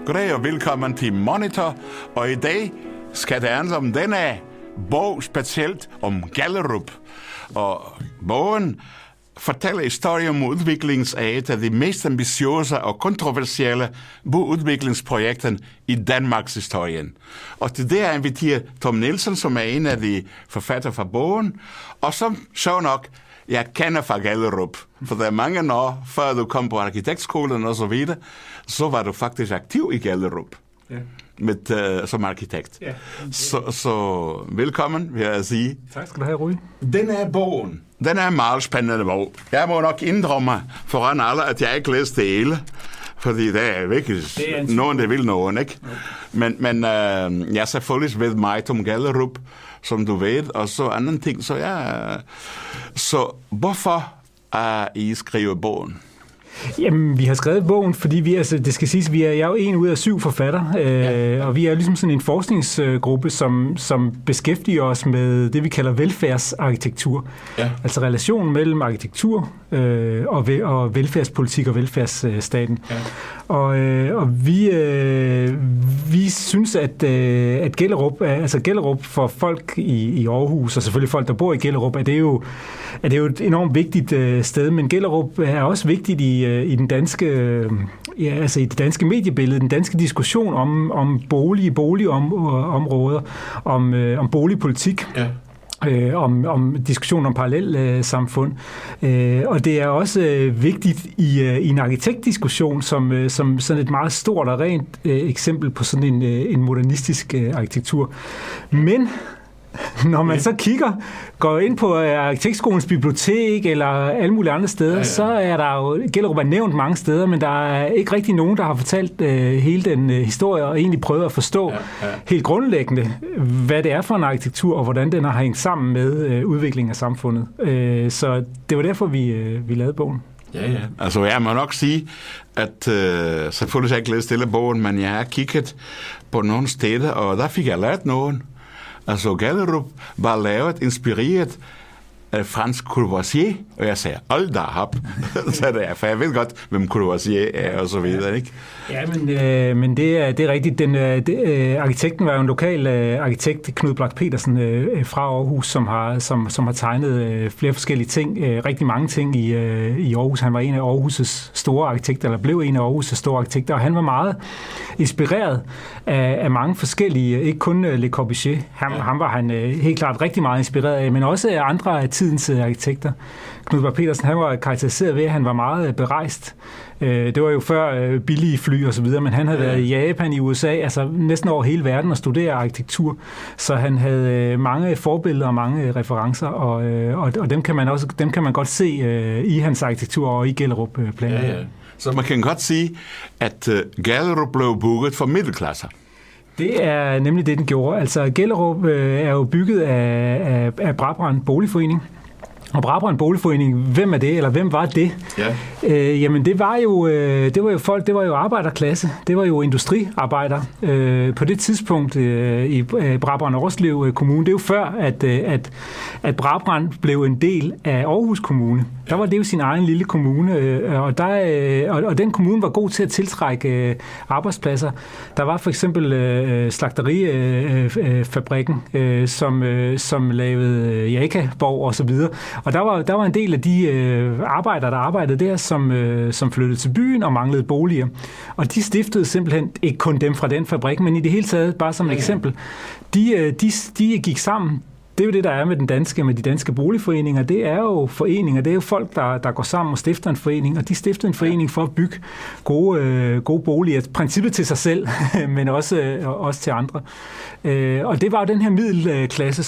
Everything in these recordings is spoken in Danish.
Goddag og velkommen til Monitor, og i dag skal det handle om denne bog specielt om Gellerup. Og bogen fortæller historien om udviklingen af et af de mest ambitiøse og kontroversielle byudviklingsprojekter i Danmarks historien. Og til det har jeg inviteret Tom Nielsen, som er en af de forfattere fra bogen, og som så nok jeg kender fra Gellerup. For der er mange år, før du kom på arkitektskolen og så videre, så var du faktisk aktiv i Gellerup. Ja. Som arkitekt. Ja. Så velkommen, vil jeg sige. Tak skal du have, Rui. Den er en meget spændende bog. Jeg må nok indrømme foran alle, at jeg ikke læste det hele. Fordi det er virkelig nogen, der vil nogen, ikke? Okay. Men jeg selvfølgelig ved meget om Gellerup, som du ved, og så andre ting. Så hvorfor I skriver bogen? Jamen, vi har skrevet bogen, fordi det skal siges, jeg er jo 1 ud af 7 forfattere, og vi er ligesom sådan en forskningsgruppe, som beskæftiger os med det, vi kalder velfærdsarkitektur. Ja. Altså relationen mellem arkitektur og velfærdspolitik og velfærdsstaten. Ja. Og vi synes, at Gellerup for folk i Aarhus, og selvfølgelig folk, der bor i Gellerup, er det jo et enormt vigtigt sted, men Gellerup er også vigtigt i den danske, i det danske mediebillede, den danske diskussion om boligområder, om boligpolitik. Ja. Om diskussion om parallelsamfund. Og det er også vigtigt i en arkitektdiskussion som sådan et meget stort og rent eksempel på sådan en modernistisk arkitektur. Men når man så går ind på Arkitektskolens bibliotek eller alle mulige andre steder, så er der jo, Gellerup er nævnt mange steder, men der er ikke rigtig nogen, der har fortalt hele den historie og egentlig prøvet at forstå helt grundlæggende, hvad det er for en arkitektur og hvordan den har hængt sammen med udviklingen af samfundet. Så det var derfor, vi lavede bogen. Ja. Altså jeg må nok sige, at selvfølgelig har jeg ikke læst hele bogen, men jeg har kigget på nogle steder, og der fik jeg lært nogen. Altså Gellerup var lavet, inspireret af Frans Courvoisier, og jeg sagde, hold da op, for jeg ved godt, hvem Courvoisier er, og så videre, ikke? Ja, men det er rigtigt. Arkitekten var jo en lokal arkitekt, Knud Blak Petersen fra Aarhus, som har tegnet flere forskellige ting, rigtig mange ting i Aarhus. Han var en af Aarhus' store arkitekter, eller blev en af Aarhus' store arkitekter, og han var meget inspireret af mange forskellige, ikke kun Le Corbusier. Ham var han helt klart rigtig meget inspireret af, men også af andre af tidens arkitekter. Knud Blak Petersen, han var karakteriseret ved, at han var meget berejst. Det var jo før billige fly og så videre, men han havde været i Japan, i USA, altså næsten over hele verden og studere arkitektur. Så han havde mange forbilleder og mange referencer, og dem kan man godt se i hans arkitektur og i Gellerup-planen. Ja. Så man kan godt sige, at Gellerup blev bygget for middelklasser. Det er nemlig det, den gjorde. Altså Gellerup er jo bygget af Brabrand Boligforening. Og Brabrand Boligforening, hvem er det, eller hvem var det? Ja. Jamen det var jo folk, det var jo arbejderklasse, det var jo industriarbejdere på det tidspunkt i Brabrand Årslev Kommune. Det er jo før, at Brabrand blev en del af Aarhus Kommune. Der var det jo sin egen lille kommune, og den kommune var god til at tiltrække arbejdspladser. Der var for eksempel slagterifabrikken, som lavede Jakaborg og så videre. Og der var en del af de arbejdere, der arbejdede der, som flyttede til byen og manglede boliger. Og de stiftede simpelthen, ikke kun dem fra den fabrik, men i det hele taget, bare som et eksempel, de gik sammen. Det er jo det, der er med de danske boligforeninger. Det er jo foreninger, det er jo folk, der går sammen og stifter en forening, og de stiftede en forening for at bygge gode boliger. Princippet til sig selv, men også til andre. Og det var jo den her middelklasse,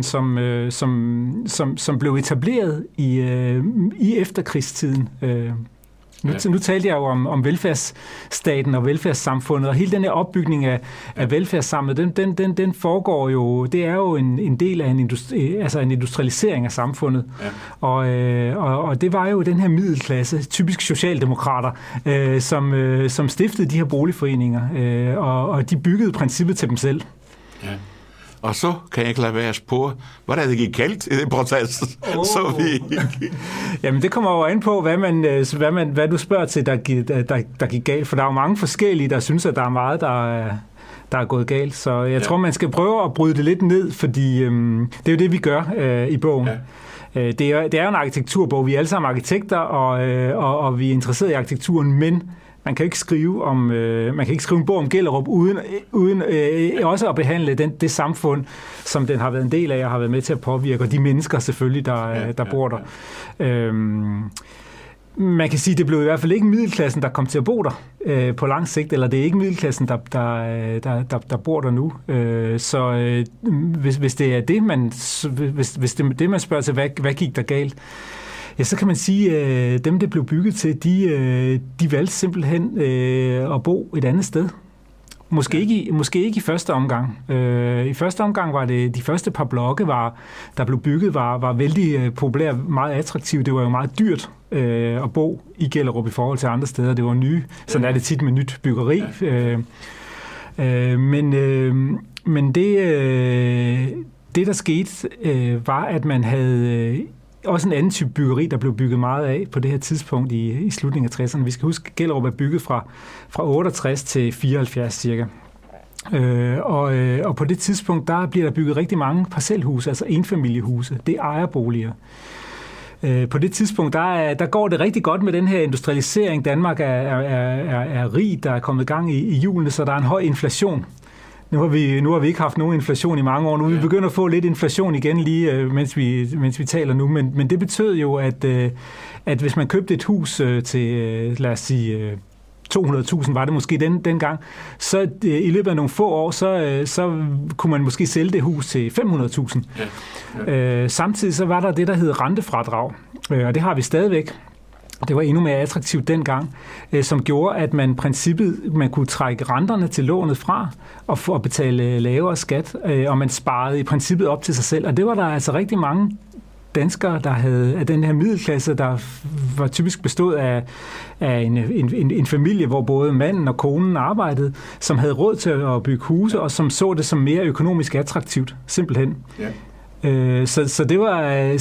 som blev etableret i efterkrigstiden. Nu talte jeg jo om velfærdsstaten og velfærdssamfundet, og hele den her opbygning af velfærdssamfundet, den foregår jo, det er jo en del af en industrialisering af samfundet. Ja. Og det var jo den her middelklasse, typisk socialdemokrater, som stiftede de her boligforeninger, og de byggede princippet til dem selv. Ja. Og så kan jeg ikke lade være at spørge, hvad er det gik galt i det proces? Jamen det kommer jo an på, hvad du spørger til, der gik galt. For der er jo mange forskellige, der synes, at der er meget, der er gået galt. Så jeg tror, man skal prøve at bryde det lidt ned, fordi det er jo det, vi gør i bogen. Ja. Det er jo en arkitekturbog. Vi er alle sammen arkitekter, og vi er interesseret i arkitekturen, men man kan ikke skrive en bog om Gellerup uden også at behandle det samfund, som den har været en del af og har været med til at påvirke, og de mennesker selvfølgelig, der bor der. Man kan sige, at det blev i hvert fald ikke middelklassen, der kom til at bo der på lang sigt, eller det er ikke middelklassen, der bor der nu. Så hvis det er det, hvis det er det, man spørger til, hvad gik der galt? Ja, så kan man sige, at dem, det blev bygget til, de valgte simpelthen at bo et andet sted. Måske ikke i første omgang. I første omgang var det de første par blokke, der blev bygget, var vældig populære, meget attraktive. Det var jo meget dyrt at bo i Gellerup i forhold til andre steder. Det var nye. Sådan er det tit med nyt byggeri. Men det der skete, var, at man havde også en anden type byggeri, der blev bygget meget af på det her tidspunkt i slutningen af 60'erne. Vi skal huske, at Gellerup er bygget fra 68 til 74 cirka. Og på det tidspunkt, der bliver der bygget rigtig mange parcelhuse, altså enfamiliehuse. Det er ejerboliger. På det tidspunkt, der går det rigtig godt med den her industrialisering. Danmark er rig, der er kommet i gang i hjulene, så der er en høj inflation. Nu har vi ikke haft nogen inflation i mange år. Nu er vi begyndt at få lidt inflation igen lige, mens vi taler nu. Men det betød jo, at hvis man købte et hus til, lad os sige, 200.000 var det måske dengang, så i løbet af nogle få år, så kunne man måske sælge det hus til 500.000. Samtidig så var der det, der hed rentefradrag, og det har vi stadigvæk. Det var endnu mere attraktivt dengang, som gjorde, at man kunne trække renterne til lånet fra og betale lavere skat, og man sparede i princippet op til sig selv. Og det var der altså rigtig mange danskere, der havde af den her middelklasse, der var typisk bestået af en familie, hvor både manden og konen arbejdede, som havde råd til at bygge huse, og som så det som mere økonomisk attraktivt, simpelthen. Ja. Så det var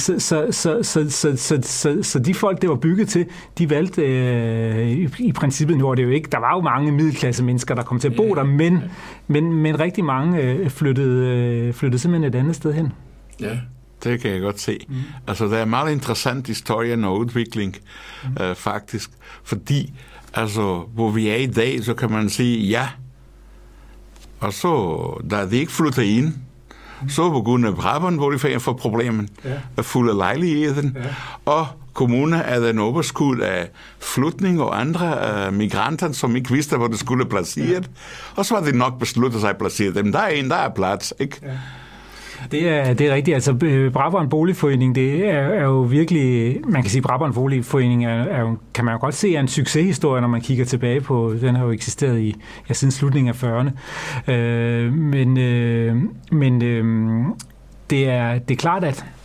så de folk, det var bygget til, de valgte i princippet, nu var det jo ikke, der var jo mange middelklasse mennesker, der kom til at bo der, men rigtig mange flyttede simpelthen et andet sted hen. Ja. Det kan jeg godt se. Altså, der er meget interessant historien og udvikling, faktisk. Fordi, altså, hvor vi er i dag, så kan man sige, ja. Og så, da de ikke flytter ind, så på grund af Brabant, hvor de får problemen, er fuld af lejligheden, og kommunen er den overskud af flytning og andre migranter, som ikke vidste, hvor det skulle placeret. Og så var det nok besluttet sig at placere dem. Der er plads, ikke? Ja. Det er rigtigt. Altså, Brabrand Boligforening, det er jo virkelig, man kan sige, Brabrand Boligforening er jo, kan man jo godt se, er en succeshistorie, når man kigger tilbage på, den har jo eksisteret siden slutningen af 40'erne. Men det er klart,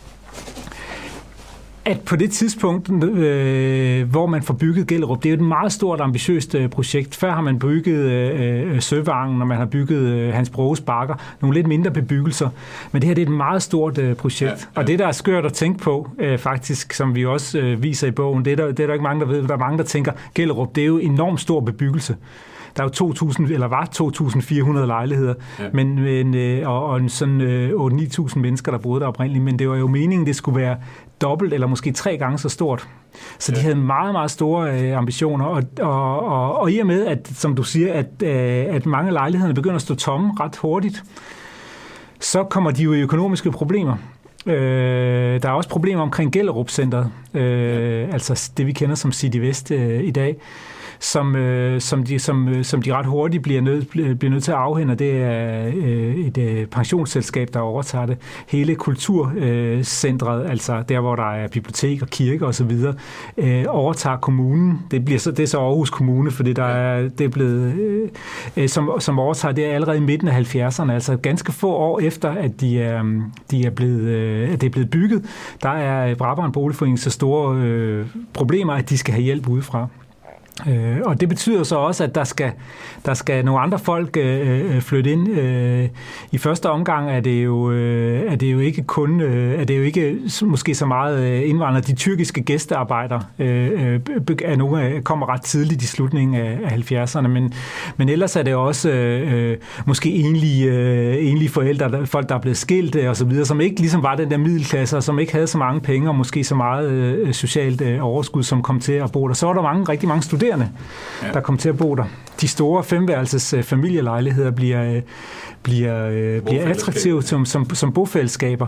at på det tidspunkt, hvor man får bygget Gellerup, det er jo et meget stort, ambitiøst projekt. Før har man bygget Søvangen, og man har bygget Hans Broges Bakker, nogle lidt mindre bebyggelser. Men det her, det er et meget stort projekt. Ja. Og det, der er skørt at tænke på, faktisk, som vi også viser i bogen, det er der ikke mange, der ved. Der er mange, der tænker, Gellerup, det er jo enormt stor bebyggelse. Der er jo 2.400 lejligheder, og sådan 8-9.000 mennesker, der boede der oprindeligt. Men det var jo meningen, det skulle være dobbelt eller måske 3 gange så stort. Så de havde meget, meget store ambitioner. Og i og med, at, som du siger, at mange af lejlighederne begynder at stå tomme ret hurtigt, så kommer de jo i økonomiske problemer. Der er også problemer omkring Gellerup-centret, altså det, vi kender som City Vest i dag, som de ret hurtigt bliver nødt til at afhænde. Det er et pensionsselskab, der overtager det. Hele kulturcentret, altså der, hvor der er bibliotek og kirke osv., overtager kommunen. Det er så Aarhus Kommune, fordi det er blevet, som overtager det allerede i midten af 70'erne, altså ganske få år efter, at det er blevet bygget. Der er Brabrand Boligforening så store problemer, at de skal have hjælp udefra. Og det betyder så også, at der skal nogle andre folk flytte ind. I første omgang er det jo ikke kun måske så meget indvandrere. De tyrkiske gæstearbejdere er nogle kommer ret tidligt i slutningen af 70'erne, men ellers er det også måske enlige forældre, folk der er blevet skilt og så videre, som ikke ligesom var den der middelklasse, og som ikke havde så mange penge og måske så meget socialt overskud, som kom til at bo der. Så var der rigtig mange studerende, der kom til at bo der. De store 5-værelses familielejligheder bliver attraktive som bofællesskaber.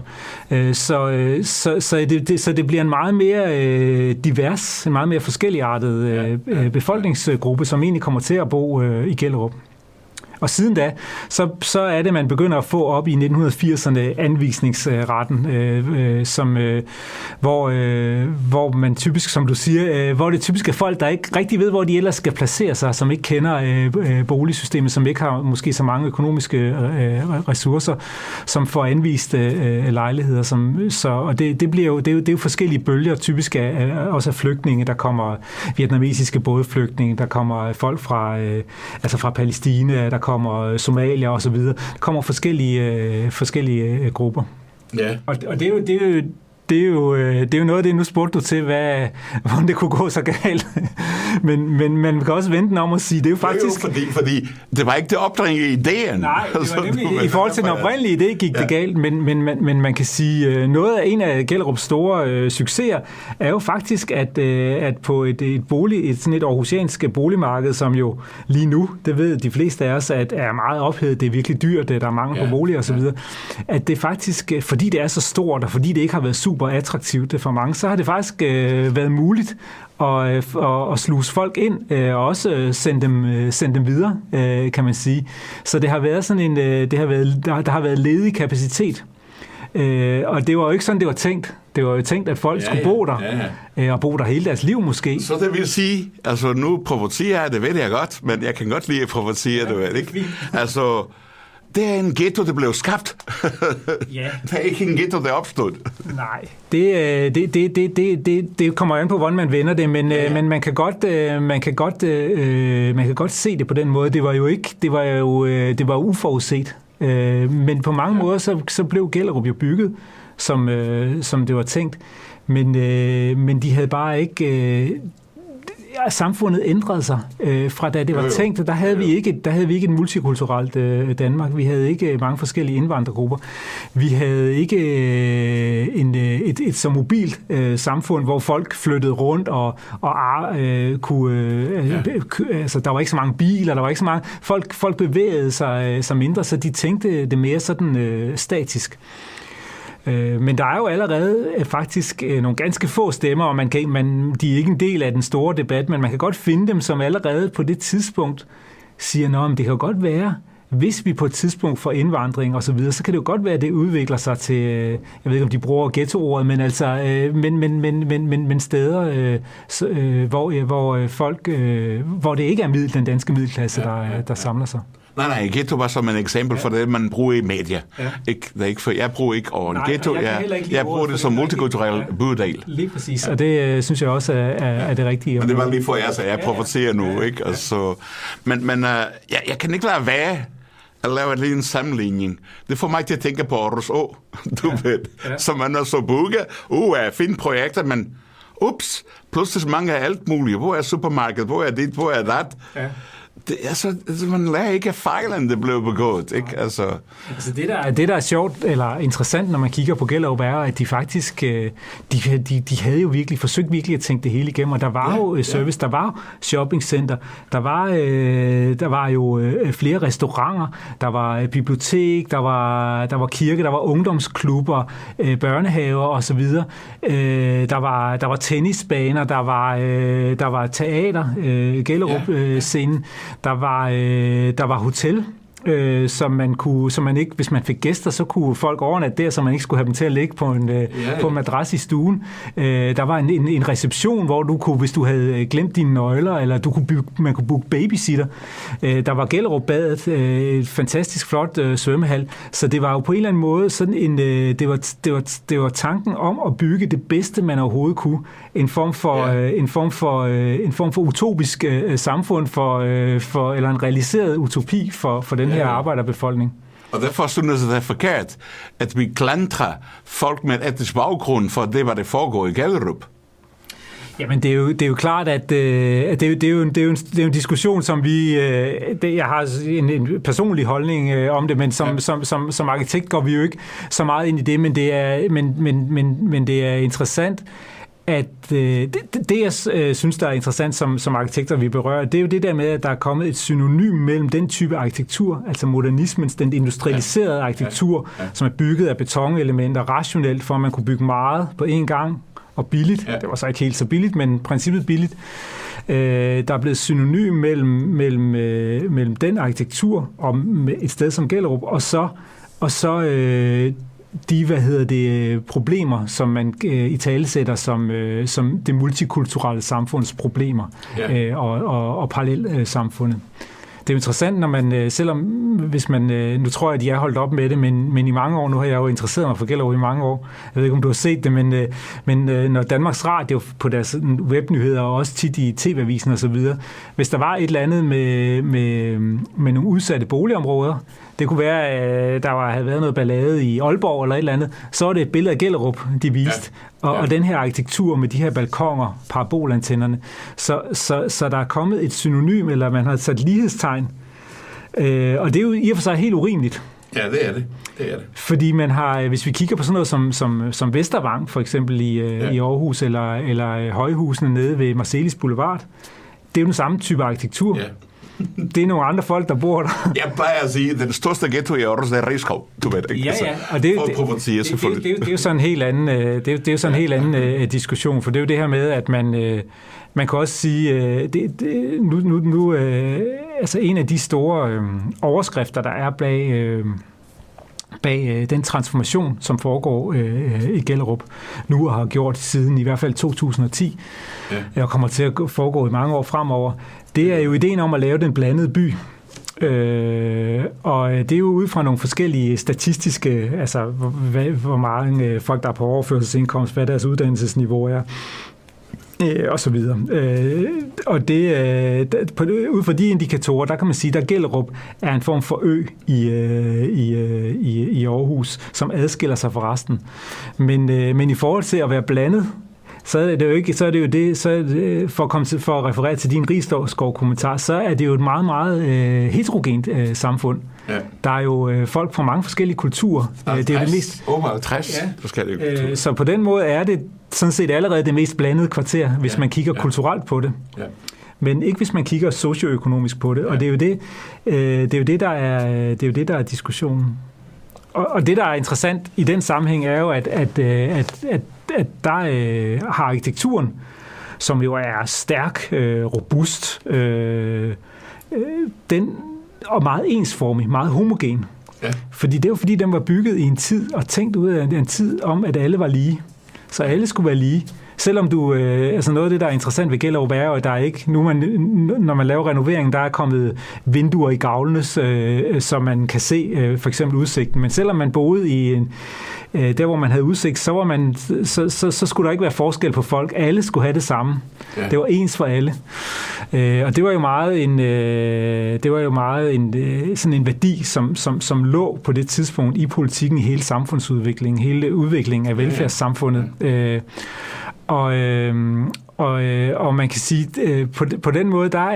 Så det bliver en meget mere divers, en meget mere forskelligartet befolkningsgruppe, som egentlig kommer til at bo i Gellerup. Og siden da, så er det, man begynder at få op i 1980'erne anvisningsretten, hvor man typisk, som du siger, hvor det typisk er folk, der ikke rigtig ved, hvor de ellers skal placere sig, som ikke kender boligsystemet, som ikke har måske så mange økonomiske ressourcer, som får anvist lejligheder. Og det er jo forskellige bølger, typisk også af flygtninge. Der kommer vietnamesiske bådflygtninge, der kommer folk fra Palæstina, der kommer somalier og så videre. Der kommer forskellige grupper. Ja. Og det er jo noget af det, nu spurgte du til, hvordan det kunne gå så galt. men man kan også vente om at sige, det er jo faktisk... Fordi det var ikke det opdringede idéen. Nej, det var nemlig i forhold til den oprindelige idé gik det galt, men man kan sige, noget af en af Gellerups store succeser er jo faktisk, at på et aarhusiansk boligmarked, som jo lige nu, det ved de fleste af os, at er meget ophedet, det er virkelig dyrt, der er mangel på boliger osv., at det faktisk, fordi det er så stort, og fordi det ikke har været super attraktivt for mange, så har det faktisk været muligt at sluse folk ind og også sende dem videre, kan man sige. Så det har været sådan en, der har været ledig kapacitet. Og det var jo ikke sådan, det var tænkt. Det var jo tænkt, at folk skulle bo der, og bo der hele deres liv måske. Så det vil sige, altså nu provocerer jeg, det ved jeg godt, men jeg kan godt lide at provocere, du ved, ikke? Altså, det er en ghetto, der blev skabt. Ja. Det er ikke en ghetto, der opstod. Nej, det kommer an på, hvordan man vender det, men man kan godt se det på den måde. Det var uforudset. Men på mange måder så blev Gellerup jo bygget, som det var tænkt. Men de havde bare ikke... samfundet ændrede sig fra da det var tænkt. Der havde vi ikke et multikulturelt Danmark. Vi havde ikke mange forskellige indvandrergrupper. Vi havde ikke et så mobilt samfund, hvor folk flyttede rundt og kunne... Altså, der var ikke så mange biler, der var ikke så mange... Folk bevægede sig mindre, så de tænkte det mere sådan statisk. Men der er jo allerede faktisk nogle ganske få stemmer, og de er ikke en del af den store debat, men man kan godt finde dem, som allerede på det tidspunkt siger, men det kan jo godt være, hvis vi på et tidspunkt får indvandring og så videre, så kan det jo godt være, at det udvikler sig til, jeg ved ikke, om de bruger ghetto-ordet, men altså, men steder, hvor folk, hvor det ikke er den danske middelklasse, der samler sig. Nej, ghetto var som et eksempel for det, man bruger i medier. Ja. Jeg bruger ikke over ghetto, jeg bruger det som multikulturel bydel. Lige præcis, og det synes jeg også er det rigtige. Men det var lige for jer, så jeg provocerer nu, ikke? Altså, men jeg kan ikke lade være at lave en sammenligning. Det får mig til at tænke på Aarhus Å, ved, som man også booker. Fine projekter, men pludselig mange af alt muligt. Hvor er supermarkedet? Hvor er dit? Hvor er dat? Ja. Man lærer ikke af fejlen, det blev begået, ikke? Altså det, der er sjovt eller interessant, når man kigger på Gellerup, er, at de faktisk, de havde jo forsøgt virkelig at tænke det hele igennem, og der var jo service, der var shoppingcenter, der var jo flere restauranter, der var bibliotek, der var kirke, der var ungdomsklubber, børnehaver og så videre. Der var tennisbaner, der var teater, Gellerup scenen. Der var hotel, som man ikke, hvis man fik gæster, så kunne folk overnatte der, så man ikke skulle have dem til at ligge på en madras i stuen. Der var en reception, hvor du kunne, hvis du havde glemt dine nøgler, eller man kunne booke babysitter. Der var Gellerupbadet, et fantastisk flot svømmehal, så det var jo på en eller anden måde sådan det var tanken om at bygge det bedste, man overhovedet kunne. En form for utopisk samfund eller en realiseret utopi for den her arbejderbefolkning. Og derfor synes jeg, det er forkert, at vi klandrer folk med et etnisk baggrund, for det var det foregår i Gellerup. Jamen, det er jo klart, at det er jo en diskussion, som jeg har en personlig holdning om det, men som arkitekt går vi jo ikke så meget ind i det, men det er interessant, at det jeg synes, der er interessant som arkitekter, vi berører, det er jo det der med, at der er kommet et synonym mellem den type arkitektur, altså modernismens, den industrialiserede arkitektur, som er bygget af betonelementer, rationelt, for at man kunne bygge meget på én gang, og billigt. Det var så ikke helt så billigt, men princippet billigt. Der er blevet synonym mellem den arkitektur og et sted som Gellerup, og så de problemer, som man italesætter som det multikulturelle samfunds problemer og parallelsamfundet. Det er jo interessant, når man, selvom hvis man, nu tror jeg, at de er holdt op med det, men i mange år, nu har jeg jo interesseret mig for Gellerup i mange år, jeg ved ikke, om du har set det, men når Danmarks Radio på deres webnyheder, og også tit i TV-avisen og så videre, hvis der var et eller andet med nogle udsatte boligområder, det kunne være, at der havde været noget ballade i Aalborg eller et eller andet, så var det et billede af Gellerup, de viste. Og den her arkitektur med de her balkoner, parabolantennerne. Så der er kommet et synonym, eller man har sat lighedstegn. Og det er jo i og for sig helt urimeligt. Ja, det er det. Fordi man har, hvis vi kigger på sådan noget som Vestervang, for eksempel i Aarhus, eller højhusene nede ved Marselis Boulevard, det er jo den samme type arkitektur. Ja. Det er nogle andre folk, der bor der. Jeg plejer at sige, at den største ghetto i Aarhus er Rigskov. Du ved ikke. Ja, og det er jo sådan en helt anden, diskussion, for det er jo det her med, at man kan også sige, altså en af de store overskrifter, der er bag den transformation, som foregår i Gellerup nu og har gjort siden i hvert fald 2010, og kommer til at foregå i mange år fremover, det er jo ideen om at lave den blandede by. Og det er jo ud fra nogle forskellige statistiske, altså hvor mange folk, der er på overførselsindkomst, hvad deres uddannelsesniveau er, og så videre. Og det, ud fra de indikatorer, der kan man sige, at Gellerup er en form for ø i Aarhus, som adskiller sig fra resten. Men i forhold til at være blandet, for at referere til din Risskov-kommentar, så er det jo et meget, meget heterogent samfund. Ja. Der er jo folk fra mange forskellige kulturer. Det er det mest 60 forskellige kulturer. Så på den måde er det sådan set allerede det mest blandede kvarter, hvis man kigger kulturelt på det. Ja. Men ikke hvis man kigger socioøkonomisk på det. Ja. Og det er jo det, der er diskussionen. Og det, der er interessant i den sammenhæng, er jo, at der har arkitekturen, som jo er stærk, robust, den og meget ensformig, meget homogen. Ja. Fordi det er jo fordi, den var bygget i en tid og tænkt ud af en tid om, at alle var lige. Så alle skulle være lige. Selvom altså noget af det, der er interessant ved Gellerup, er jo, at der er ikke, når man laver renovering, der er kommet vinduer i gavlene, så man kan se for eksempel udsigten. Men selvom man boede i der, hvor man havde udsigt, så skulle der ikke være forskel på folk. Alle skulle have det samme. Ja. Det var ens for alle. Og det var jo meget sådan en værdi, som lå på det tidspunkt i politikken, i hele samfundsudviklingen, hele udviklingen af velfærdssamfundet. Og man kan sige, på den måde, der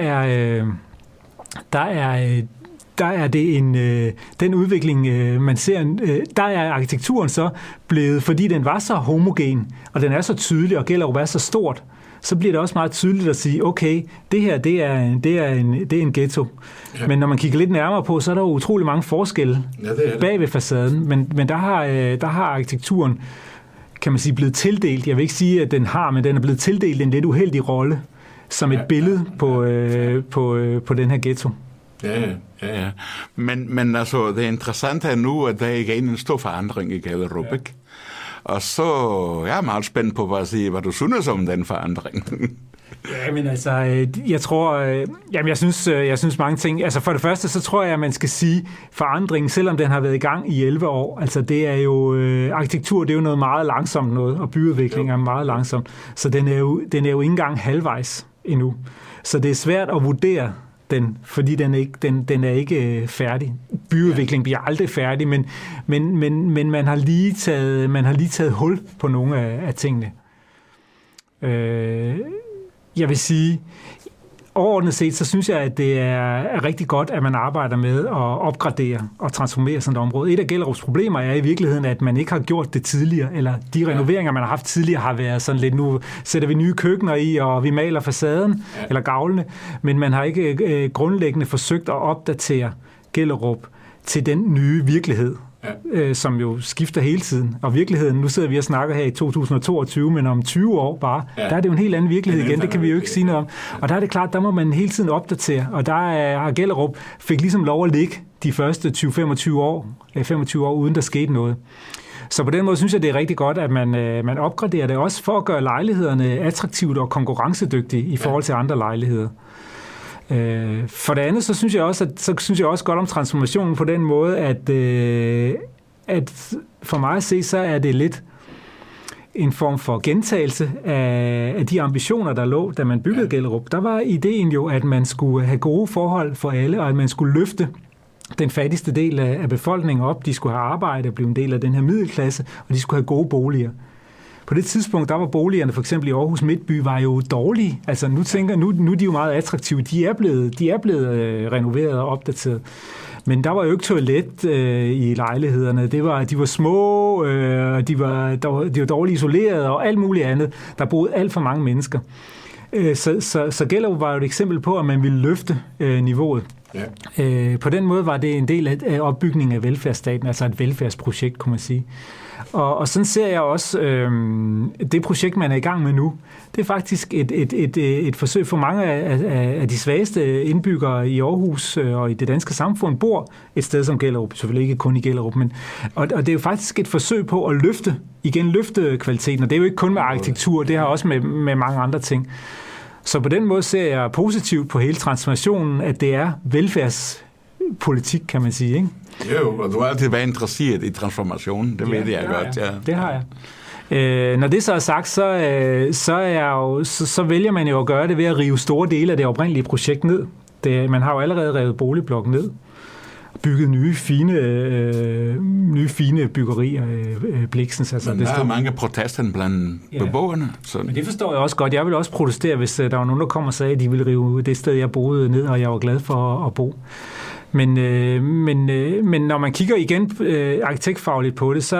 er det den udvikling, man ser, der er arkitekturen så blevet, fordi den var så homogen, og den er så tydelig, og Gellerup er så stort, så bliver det også meget tydeligt at sige, okay, det her, det er en ghetto. Ja. Men når man kigger lidt nærmere på, så er der jo utrolig mange forskelle bag ved facaden, men der har arkitekturen, kan man sige, blevet tildelt, jeg vil ikke sige, at den har, men den er blevet tildelt en lidt uheldig rolle, som et billede på den her ghetto. Ja. Men altså, det interessante er nu, at der ikke er en stor forandring i Gellerup, ikke? Og så jeg er meget spændt på hvad du synes om den forandring. Ja, men altså, jeg tror, jeg synes mange ting. Altså for det første, så tror jeg, at man skal sige forandringen, selvom den har været i gang i 11 år. Altså det er jo, arkitektur, det er jo noget meget langsomt noget, og byudvikling er meget langsomt. Så den er jo ikke engang halvvejs endnu. Så det er svært at vurdere den, fordi den er ikke færdig. Byudvikling bliver aldrig færdig, men man har lige taget hul på nogle af tingene. Jeg vil sige, overordnet set, så synes jeg, at det er rigtig godt, at man arbejder med at opgradere og transformere sådan et område. Et af Gellerups problemer er i virkeligheden, at man ikke har gjort det tidligere, eller de renoveringer, man har haft tidligere, har været sådan lidt, nu sætter vi nye køkkener i, og vi maler facaden, eller gavlene, men man har ikke grundlæggende forsøgt at opdatere Gellerup til den nye virkelighed, som jo skifter hele tiden. Og virkeligheden, nu sidder vi og snakker her i 2022, men om 20 år bare, der er det jo en helt anden virkelighed igen, det kan vi jo ikke sige noget om. Og der er det klart, der må man hele tiden opdatere, og der har Gellerup fik ligesom lov at ligge de første 20-25 år, uden der skete noget. Så på den måde synes jeg, det er rigtig godt, at man opgraderer det også for at gøre lejlighederne attraktivt og konkurrencedygtige i forhold til andre lejligheder. For det andet, så synes jeg også godt om transformationen på den måde, at for mig at se, så er det lidt en form for gentagelse af de ambitioner, der lå, da man byggede Gellerup. Der var ideen jo, at man skulle have gode forhold for alle, og at man skulle løfte den fattigste del af befolkningen op. De skulle have arbejde og blive en del af den her middelklasse, og de skulle have gode boliger. På det tidspunkt, der var boligerne for eksempel i Aarhus Midtby, var jo dårlige. Altså nu er de jo meget attraktive. De er blevet renoveret og opdateret. Men der var jo ikke toilet i lejlighederne. De var små, de var dårligt isoleret og alt muligt andet. Der boede alt for mange mennesker. Så Gellerup var jo et eksempel på, at man ville løfte niveauet. Ja. På den måde var det en del af opbygningen af velfærdsstaten, altså et velfærdsprojekt, kunne man sige. Og sådan ser jeg også det projekt, man er i gang med nu. Det er faktisk et forsøg for mange af de svageste indbyggere i Aarhus og i det danske samfund bor et sted som Gellerup, selvfølgelig ikke kun i Gellerup, og det er jo faktisk et forsøg på at løfte kvaliteten, og det er jo ikke kun med arkitektur, det har også med mange andre ting. Så på den måde ser jeg positivt på hele transformationen, at det er velfærdspolitik, kan man sige, ikke? Jo, og du har altid været interesseret i transformationen, det ved jeg godt. Ja. Det har jeg. Når det så er sagt, så vælger man jo at gøre det ved at rive store dele af det oprindelige projekt ned. Man har jo allerede revet boligblokken ned, bygget nye fine byggerier, Bliksens. Altså, men der er mange protester blandt beboerne. Så. Men det forstår jeg også godt. Jeg vil også protestere, hvis der var nogen, der kom og sagde, at de ville rive det sted, jeg boede ned, og jeg var glad for at bo. Men når man kigger igen arkitektfagligt på det, så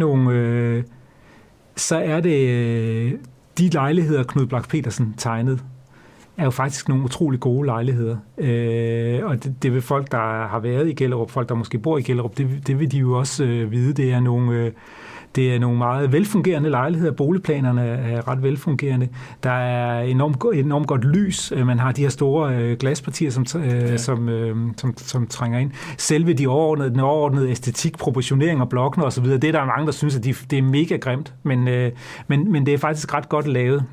er det de lejligheder, Knud Blach Petersen tegnede, er jo faktisk nogle utrolig gode lejligheder. Og det vil folk, der har været i Gellerup, folk, der måske bor i Gellerup, det vil de jo også vide. Det er nogle meget velfungerende lejligheder. Boligplanerne er ret velfungerende. Der er enormt godt lys. Man har de her store glaspartier, som trænger ind. Selve den overordnede æstetik, proportionering og blokkene osv., det er der mange, der synes, at det er mega grimt. Men det er faktisk ret godt lavet.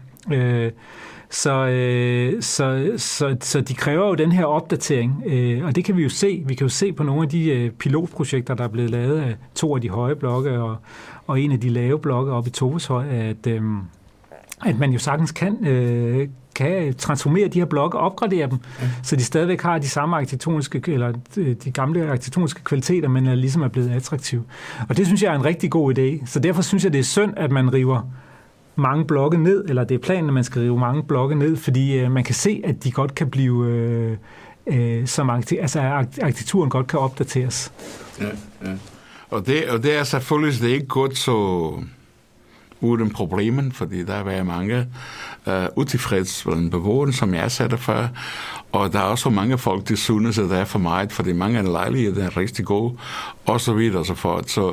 Så de kræver jo den her opdatering, og det kan vi jo se. Vi kan jo se på nogle af de pilotprojekter, der er blevet lavet af 2 af de høje blokke og en af de lave blokke oppe i Toveshøj, at man jo sagtens kan transformere de her blokke og opgradere dem, så de stadigvæk har de samme arkitektoniske, eller de gamle arkitektoniske kvaliteter, men ligesom er blevet attraktive. Og det synes jeg er en rigtig god idé. Så derfor synes jeg, det er synd, at man river mange blokke ned, eller det er planen, at man skal rive mange blokke ned, fordi man kan se, at de godt kan blive, arkitekturen godt kan opdateres. Ja. Og det er selvfølgelig det er ikke godt så uden problemen, fordi der er mange utilfreds blandt beboerne, som jeg sagde det før, og der er også mange folk, der synes, at der er for meget, fordi mange af lejligheder er rigtig gode, og så videre og så fort. Så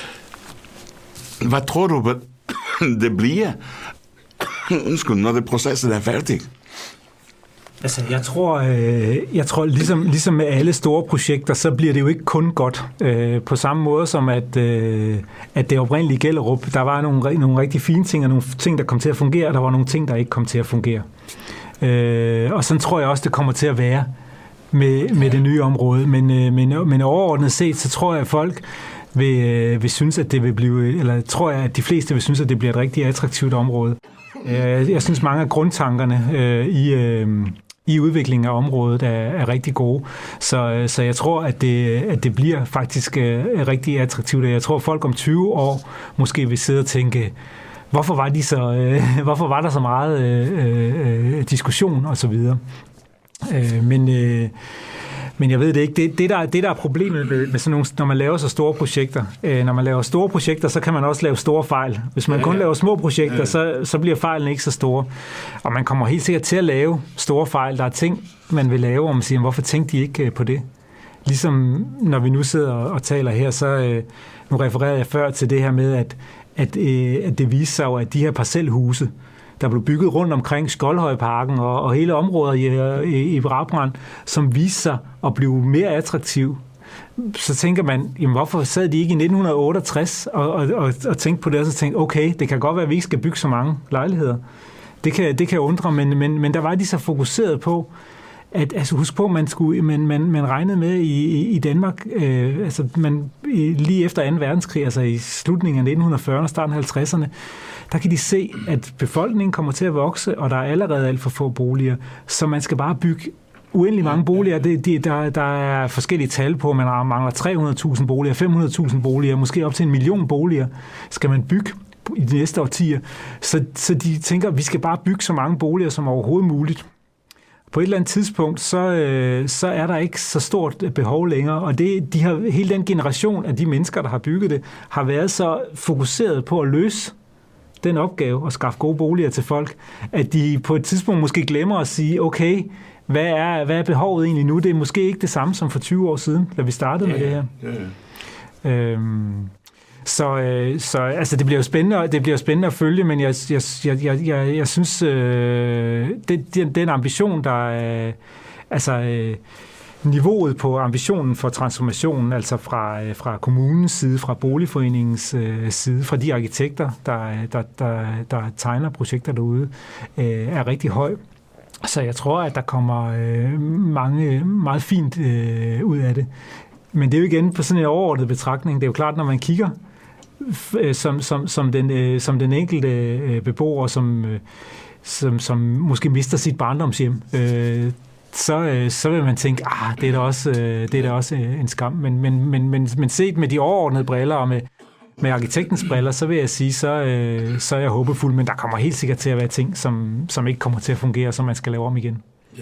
hvad tror du, det bliver, når det processen er færdig? Altså, jeg tror ligesom med alle store projekter, så bliver det jo ikke kun godt. På samme måde som at det oprindelige Gellerup, der var nogle rigtig fine ting, og nogle ting, der kom til at fungere, og der var nogle ting, der ikke kom til at fungere. Og sådan tror jeg også, det kommer til at være med det nye område. Men overordnet set, så tror jeg, at folk vil synes, at det vil blive, eller tror jeg, at de fleste vil synes, at det bliver et rigtig attraktivt område. Jeg synes, mange af grundtankerne i udviklingen af området er rigtig gode. Så jeg tror, at det bliver faktisk rigtig attraktivt. Jeg tror, at folk om 20 år måske vil sidde og tænke, hvorfor var der så meget diskussion og så videre. Men jeg ved det ikke. Det der er problemet med sådan nogle, når man laver så store projekter. Når man laver store projekter, så kan man også lave store fejl. Hvis man kun laver små projekter, så bliver fejlen ikke så store. Og man kommer helt sikkert til at lave store fejl. Der er ting, man vil lave, og man siger, hvorfor tænkte de ikke på det? Ligesom når vi nu sidder og taler her, så nu refererede jeg før til det her med, at det viser sig jo, at de her parcelhuse, der blev bygget rundt omkring Skoldhøjparken og hele området i Brabrand, som viste sig at blive mere attraktiv. Så tænker man, jamen hvorfor sad de ikke i 1968 og tænkte på det, og så tænkte, okay, det kan godt være, at vi ikke skal bygge så mange lejligheder. Det kan undre, men der var de så fokuseret på, at altså husk på, man regnede med i Danmark, lige efter 2. verdenskrig, altså i slutningen af 1940'erne og starten af 50'erne, der kan de se, at befolkningen kommer til at vokse, og der er allerede alt for få boliger, så man skal bare bygge uendelig mange boliger. Der er forskellige tal på, man mangler 300.000 boliger, 500.000 boliger, måske op til 1 million boliger, skal man bygge i de næste årtier. Så de tænker, at vi skal bare bygge så mange boliger som overhovedet muligt. På et eller andet tidspunkt, så er der ikke så stort behov længere, og hele den generation af de mennesker, der har bygget det, har været så fokuseret på at løse den opgave at skaffe gode boliger til folk, at de på et tidspunkt måske glemmer at sige, okay, hvad er behovet egentlig nu? Det er måske ikke det samme som for 20 år siden, da vi startede med det her. Så altså, det bliver jo spændende at følge, men jeg synes, den ambition, der er, niveauet på ambitionen for transformationen, altså fra kommunens side, fra boligforeningens side, fra de arkitekter, der tegner projekter derude, er rigtig høj. Så jeg tror, at der kommer mange meget fint ud af det. Men det er jo igen på sådan en overordnet betragtning. Det er jo klart, når man kigger som den enkelte beboer, som måske mister sit barndomshjem, så vil man tænke, det er da også en skam. Men set med de overordnede briller og med arkitektens briller, så vil jeg sige, så er jeg håbefuld, men der kommer helt sikkert til at være ting, som ikke kommer til at fungere, som man skal lave om igen.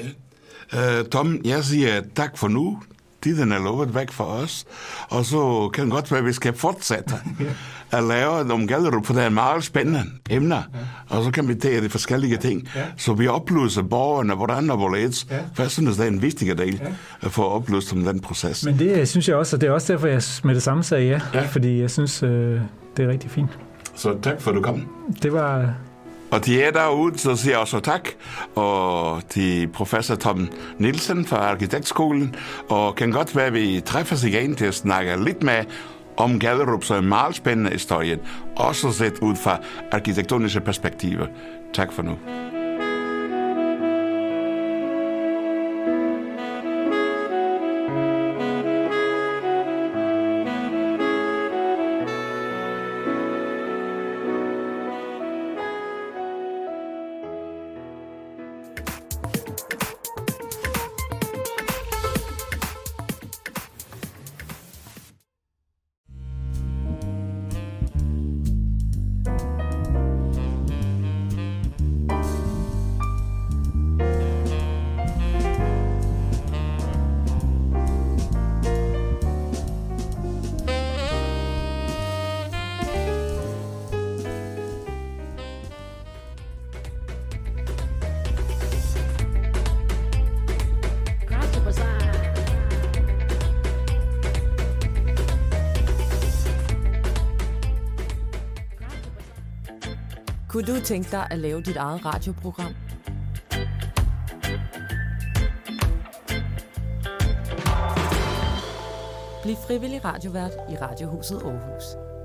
Ja. Tom, jeg siger tak for nu. Tiden er lovet væk for os, og så kan det godt være, at vi skal fortsætte at lave nogle Gellerup, for det er meget spændende emner, og så kan vi tage de forskellige ting, så vi oplyser borgerne, hvordan og hvorledes, for jeg synes, det er en vigtig del at få oplyst om den proces. Men det synes jeg også, og det er også derfor, jeg med det samme sagde fordi jeg synes, det er rigtig fint. Så tak for, at du kom. Det var... Og til jer derude, så siger jeg også tak, og til professor Tom Nielsen fra Arkitektskolen, og kan godt være, at vi træffes igen til at snakke lidt med om Gellerup, så en meget spændende historie, også set ud fra arkitektoniske perspektiver. Tak for nu. Kunne du tænke dig at lave dit eget radioprogram? Bliv frivillig radiovært i Radiohuset Aarhus.